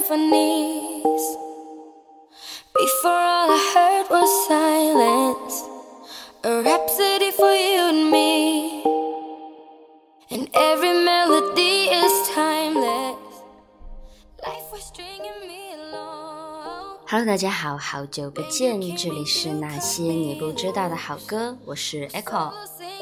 symphonies. Before all I heard was silence, a rhapsody for you and me, and every melody is timeless. Life was stringing me along. Hello， 大家好，好久不见，这里是那些你不知道的好歌，我是 Echo。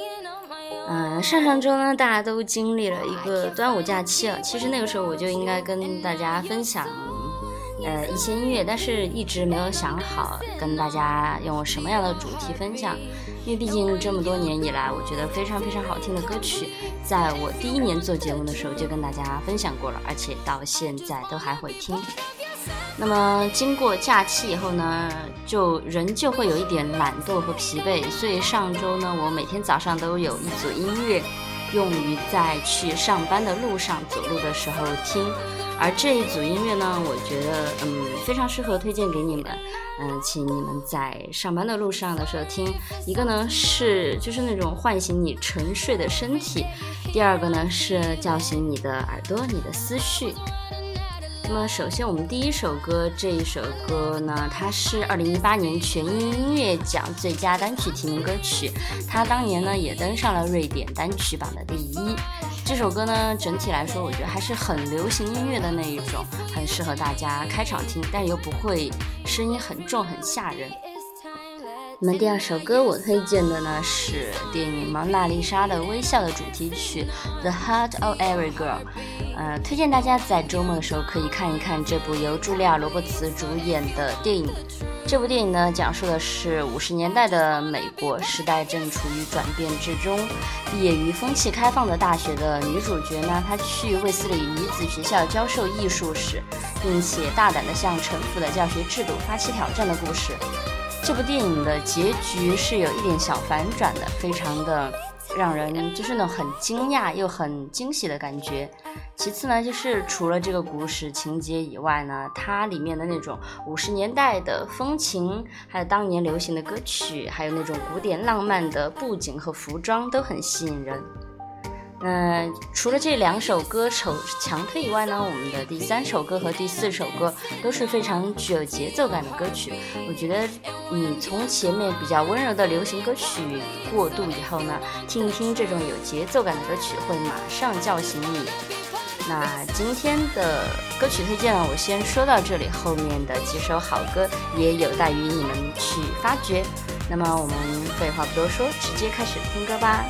上周呢，大家都经历了一个端午假期了。其实那个时候我就应该跟大家分享一些音乐，但是一直没有想好跟大家用什么样的主题分享，因为毕竟这么多年以来，我觉得非常非常好听的歌曲，在我第一年做节目的时候就跟大家分享过了，而且到现在都还会听。那么经过假期以后呢，人就会有一点懒惰和疲惫，所以上周呢，我每天早上都有一组音乐用于在去上班的路上走路的时候听，而这一组音乐呢，我觉得非常适合推荐给你们，请你们在上班的路上的时候听。一个呢是就是那种唤醒你沉睡的身体，第二个呢是叫醒你的耳朵、你的思绪。那么首先我们第一首歌，这一首歌呢，它是2018年全英音乐奖最佳单曲提名歌曲，它当年呢也登上了瑞典单曲榜的第1。这首歌呢整体来说我觉得还是很流行音乐的那一种，很适合大家开场听，但又不会声音很重很吓人。那么第二首歌我推荐的呢是电影《蒙娜丽莎的微笑》的主题曲 The Heart of Every Girl。推荐大家在周末的时候可以看一看这部由茱莉亚·罗伯茨主演的电影。这部电影呢讲述的是50年代的美国，时代正处于转变之中。毕业于风气开放的大学的女主角呢，她去卫斯理女子学校教授艺术史，并且大胆地向陈腐的教学制度发起挑战的故事。这部电影的结局是有一点小反转的，非常的让人就是那种很惊讶又很惊喜的感觉。其次呢，就是除了这个故事情节以外呢，它里面的那种50年代的风情，还有当年流行的歌曲，还有那种古典浪漫的布景和服装都很吸引人。除了这2首歌强推以外呢，我们的第3首歌和第4首歌都是非常具有节奏感的歌曲。我觉得你从前面比较温柔的流行歌曲过渡以后呢，听一听这种有节奏感的歌曲会马上叫醒你。那今天的歌曲推荐呢，我先说到这里，后面的几首好歌也有待于你们去发掘。那么我们废话不多说，直接开始听歌吧。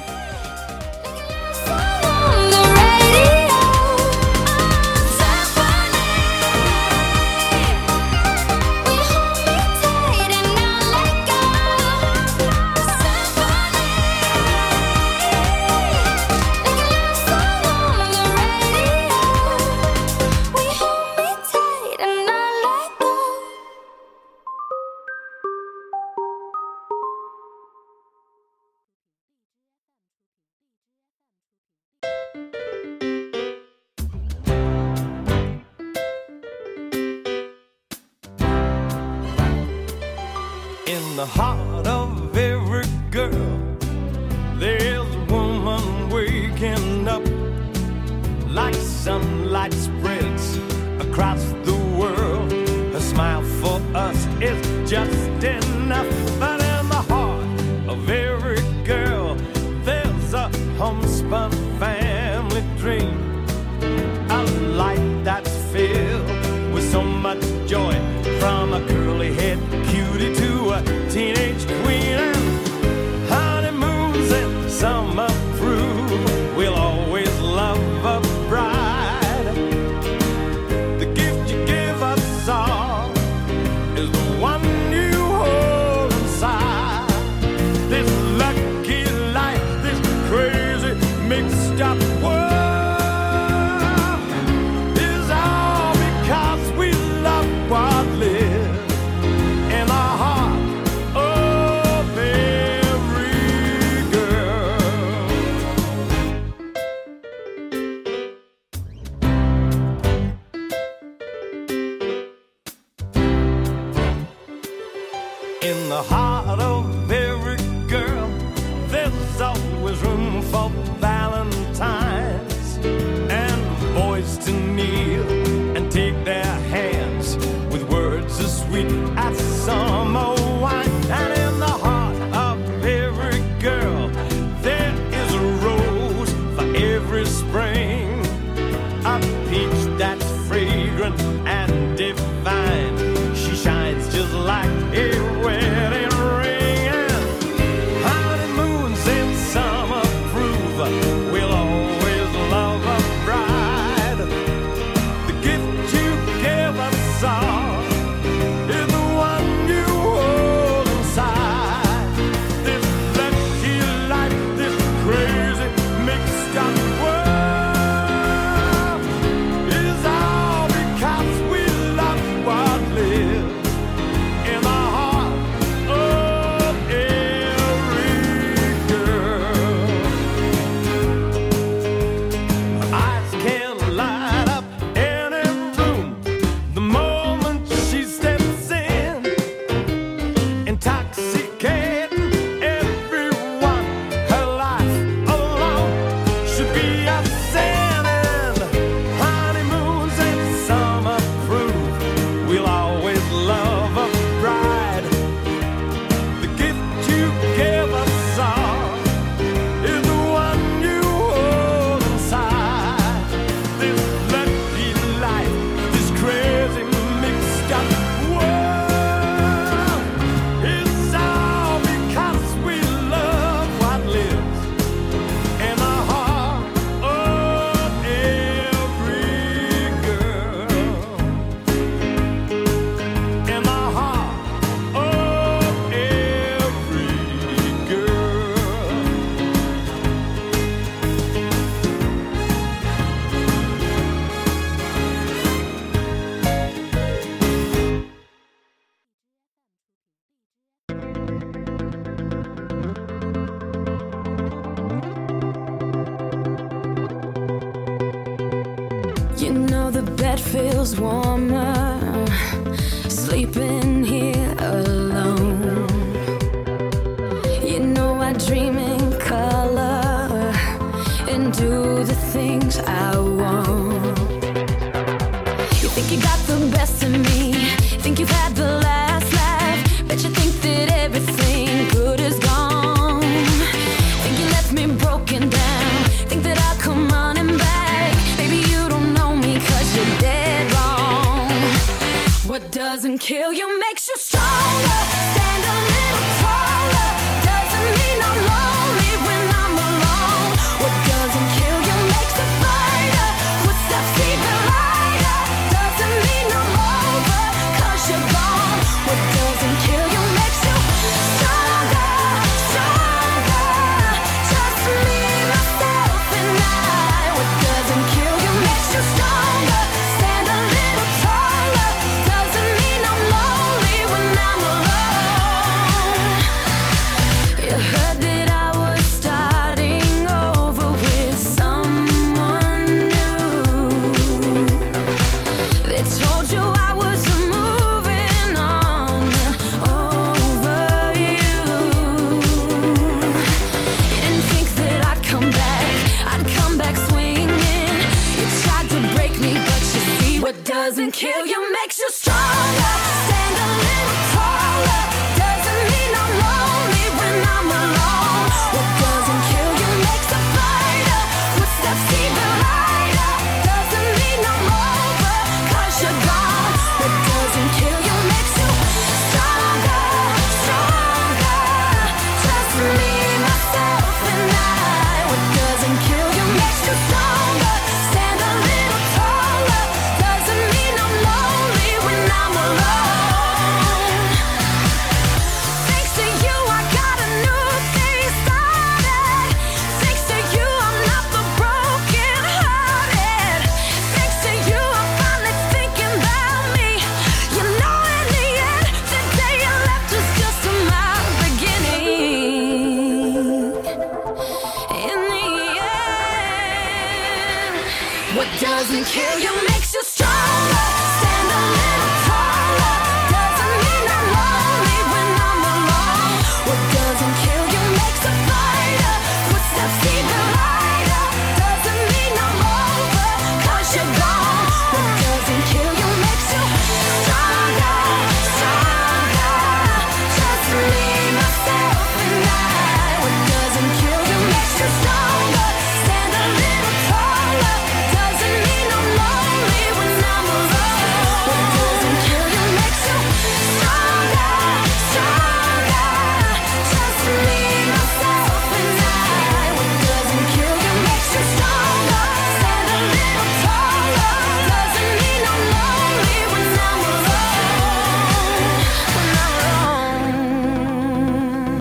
In the heart of every girl, there's a woman waking up. Like sunlight spreads across the world, her smile for us is just enough. But in the heart of every girl, there's a homespun family dream, a life that's filled with so much joy, from a curly-head cutie to a teenage queen. And honeymoons and summer through, we'll always love a bride. The gift you give us all is the one bed feels warmer, sleeping here alone. You know I dream in color and do the things I want. You think you got the best of me, think you've had the last laugh, bet you think that everything good is gone. Think you left me broken down, think that I'll come running back. Baby, you don't know me 'cause you're dead wrong. What doesn't kill you makes you stronger. Stand a little taller. Doesn't mean I'm lonely when I'm alone. What doesn't kill you makes a fighter. Footsteps even lighter. Doesn't mean I'm over 'cause you're gone. What doesn't kill you makes you stronger, stronger. Just me, myself, and I. What doesn't kill you makes you stronger. Stand a little taller. Doesn't mean I'm lonely when I'm alone. You heard that I was starting over with someone new. They told you I was moving on over you. You didn't think that I'd come back swinging. You tried to break me, but you see what doesn't kill you makes you stronger. Stand a little taller. Doesn't mean I'm lonely when I'm alone. What doesn't kill you makes a fighter. Footsteps even lighter. Doesn't mean I'm over 'cause you're gone. What doesn't kill you makes you stronger, stronger. Just me, myself, and I. What doesn't kill you makes you stronger. Stand a little taller. Doesn't mean I'm lonely when I'm alone. Thanks to you, I got a new thing started. Thanks to you, I'm not the broken hearted. Thanks to you, I'm finally thinking about me. You know, in the end, the day you left was just my beginning. In the end, what doesn't kill you makes you stronger. Stand a little taller. Doesn't mean I'm lonely when I'm alone. What doesn't kill you makes a fighter. Footsteps even lighter. Doesn't mean I'm over 'cause you're gone. What doesn't kill you makes you stronger, stronger. Just me, myself, and I. What doesn't kill you makes you stronger. Stand a little taller. Doesn't mean I'm lonely when I'm alone. What doesn't kill you makes you stronger, stronger. Just me, myself, and I. What doesn't kill you makes you stronger. Stand a little taller. Doesn't mean I'm lonely when I'm alone. When I'm alone.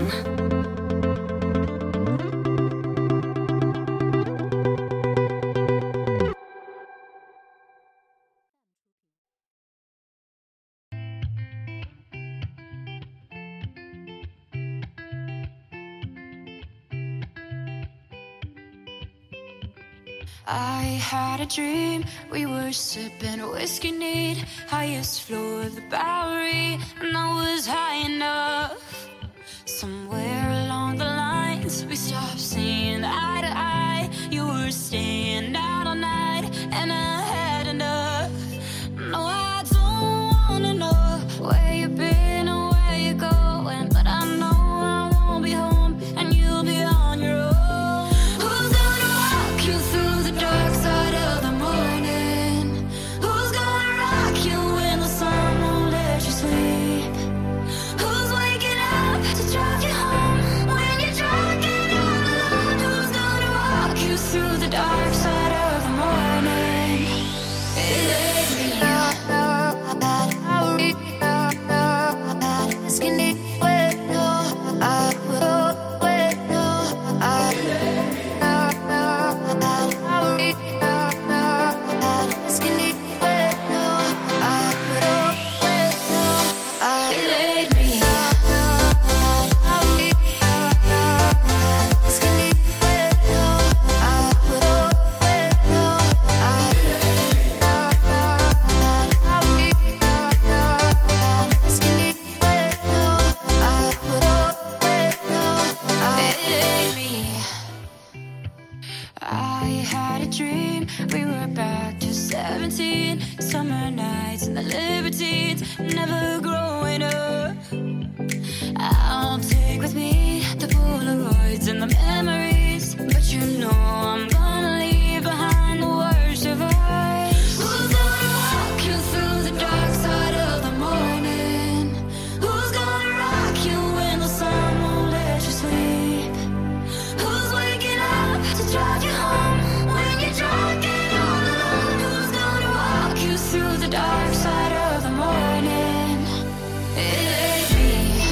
I had a dream, we were sipping whiskey neat, highest floor of the Bowery, and I was high enough. Somewhere along the lines, we stopped seeing eye to eye. You were staying out all night, and I had enough. No, I don't wanna know where you've been or where you're going, but I know I won't be home, and you'll be on your own. Who's gonna walk you through the dark side of the morning? Who's gonna rock you when the sun won't let you sleep? Who's waking up we were back to 17. Summer nights and the libertines, never growing up. I'll take with me the Polaroids and the memories, but you know I'm gonna leave behind the worst of us. Who's gonna walk you through the dark side of the morning? Who's gonna rock you when the sun won't let you sleep? Who's waking up to drive you home when you're drunk and all alone? Who's gonna walk you through the dark side of the morning? It ain't me.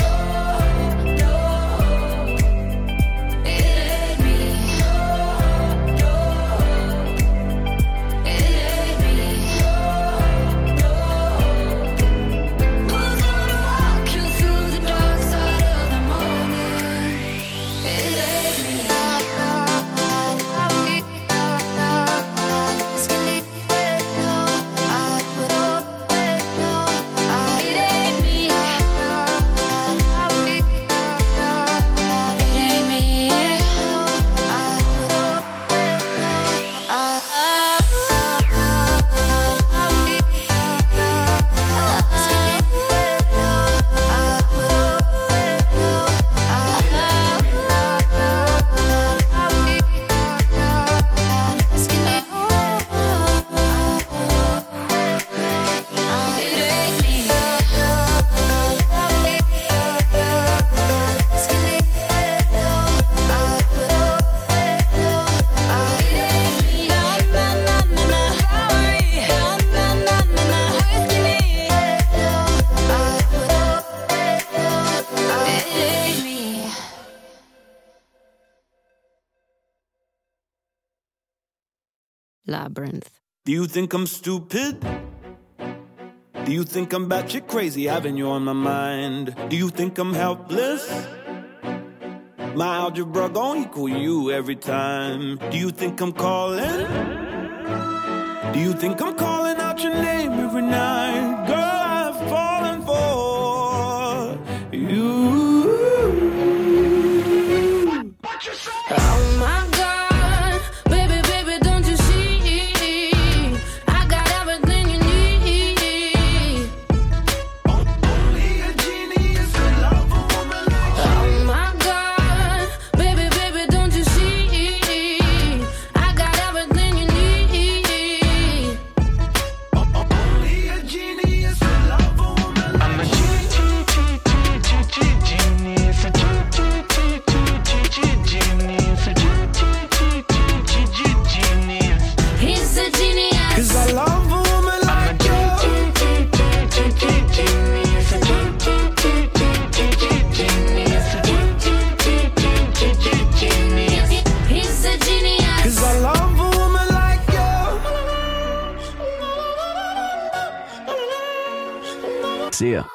Labyrinth. Do you think I'm stupid? Do you think I'm batshit crazy having you on my mind? Do you think I'm helpless? My algebra gon' equal you every time. Do you think I'm calling? Do you think I'm calling out your name every night? Girl, I've fallen for you. Oh my God, baby, baby, don't you see? I got everything you need. Only a genius could love a woman like you. Oh my God, baby, baby, don't you see? I got everything you need. Only a genius could love a woman like you. I'm a genius, a genius, He's a genius. 'cause I love a woman like you. He's a genius. 'Cause I love a woman like you. See ya.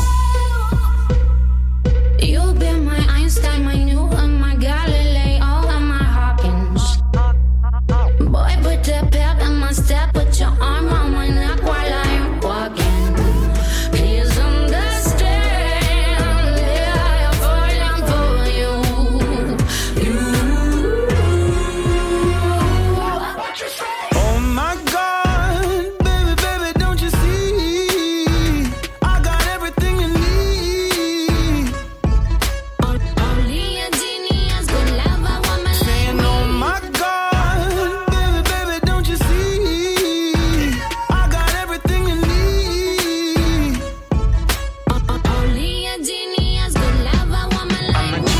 You've been my Einstein, my Newton, my Galileo, and my Hawkins. Boy, put the pep in my step, put your arm on my neck while I'm walking. Please understand, yeah, I'm falling for you. Oh my God, baby, baby, don't you see? I got everything you need. Only a genius could love a woman like And me. oh my God, baby, baby, don't you see? I got everything you need. Only a genius could love a woman like me.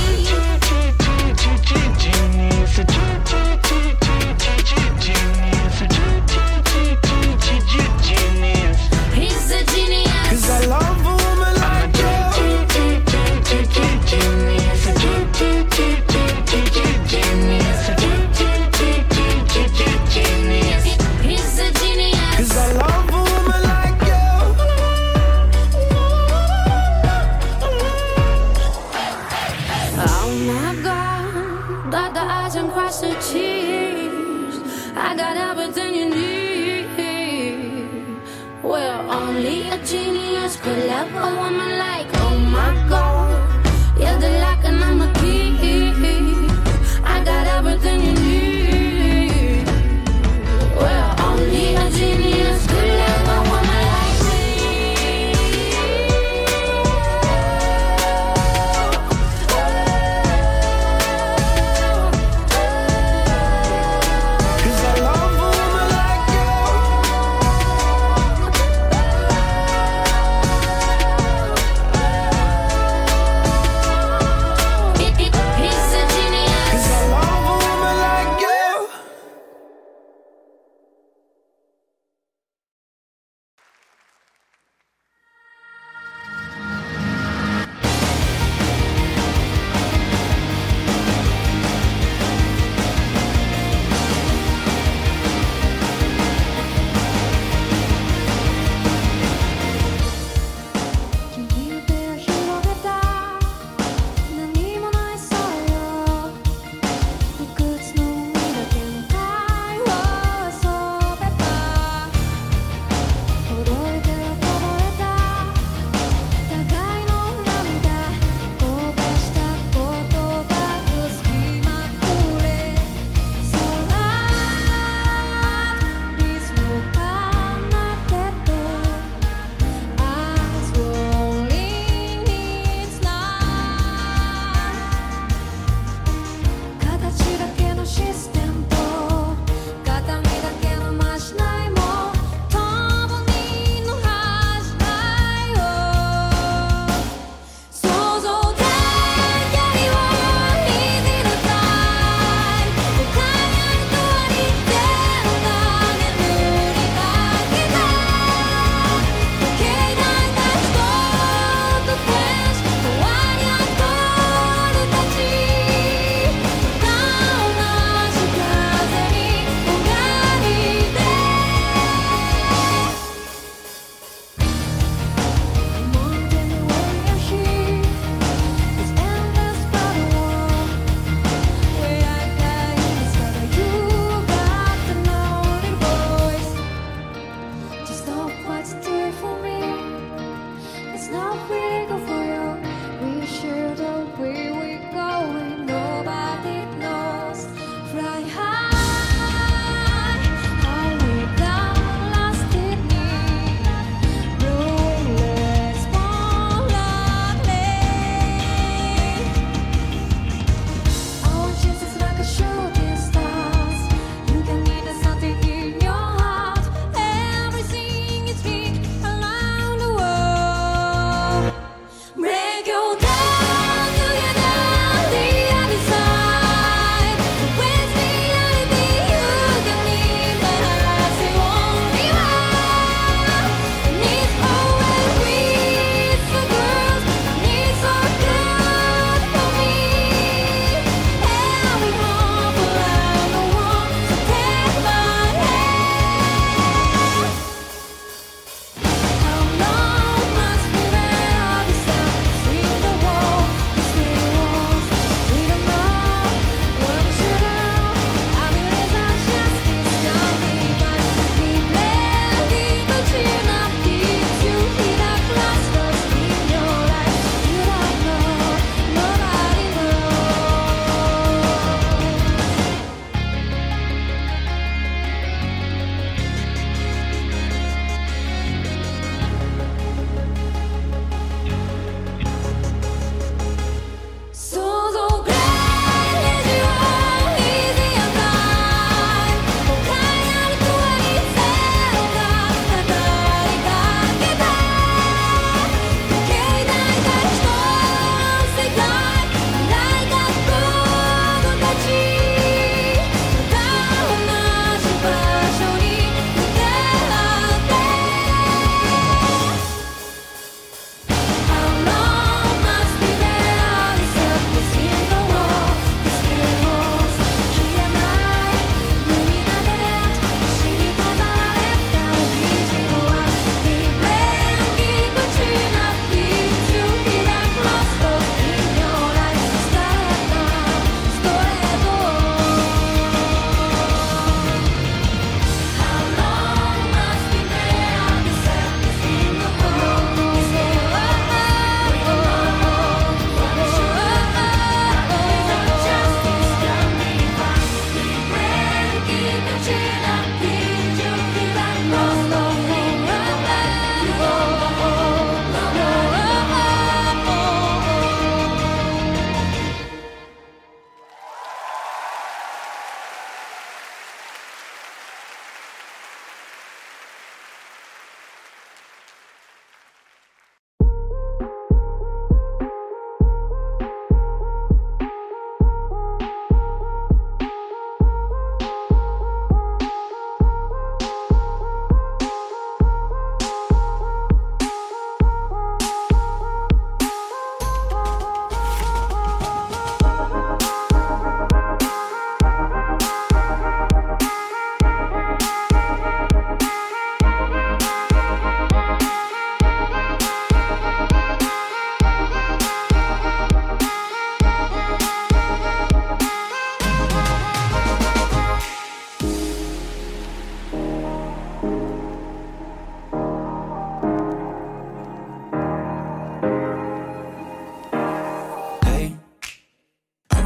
He's a genius. 'Cause I love a woman like you. He's a genius. 'Cause I love a woman like you. Oh my God, dot the I's and cross the T's. I got everything you need. Well, only a genius could love a woman like. Oh my God, you're the lock and I'm the key. I got everything you need.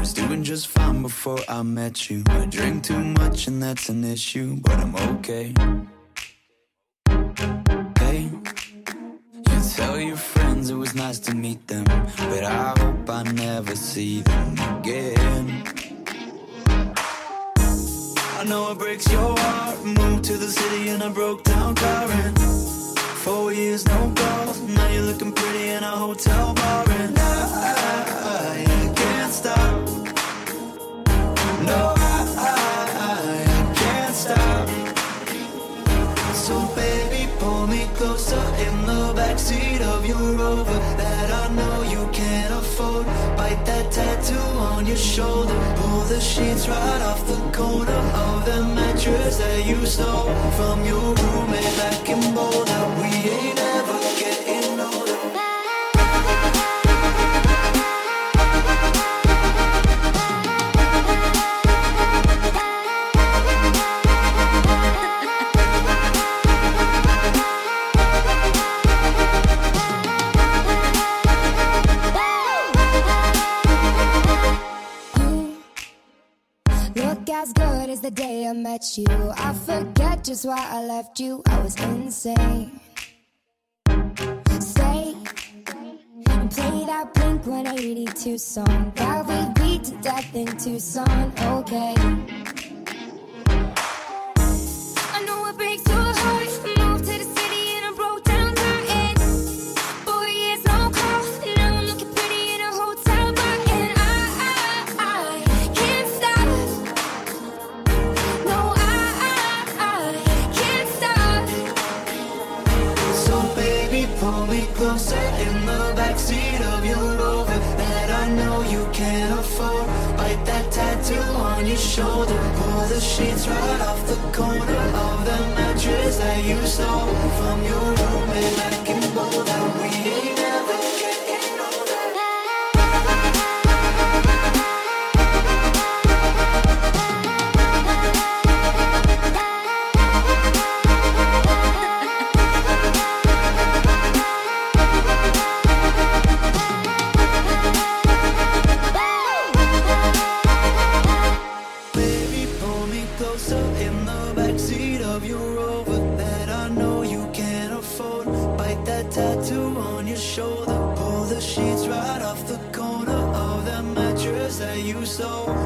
was doing just fine before I met you. I drink too much and that's an issue, but I'm okay. Hey, you tell your friends it was nice to meet them, but I hope I never see them again. I know it breaks your heart. Moved to the city in a broke down car, and 4 years no calls. Now you're looking pretty in a hotel bar, and I can't stop. No, I can't stop. So baby, pull me closer in the backseat of your Rover that I know you can't afford. Bite that tattoo on your shoulder. Pull the sheets right off the corner of the mattress that you stole from your roommate back in Boulder. We ain't ever getting older. As good as the day I met you, I forget just why I left you. I was insane. Stay and play that Blink 182 song that we beat to death in Tucson. Okay, I know it breaks your heart. Moved to the city and I broke down her end. 4 years no call. Now I'm looking pretty in a hotel bar, and I can't stop. No, I can't stop. So baby, pull me closer in the backseat of your Rover that I know you can't afford. Bite that tattoo on your shoulder. Pull the sheets right off the corner of the mattress that you stole from your roommate back in Boulder. We ain't never getting older. Baby, pull me closer in the backseat of your Rover that I know you can't afford. Bite that tattoo on your shoulder. Pull the sheets right off the corner of the mattress that you stole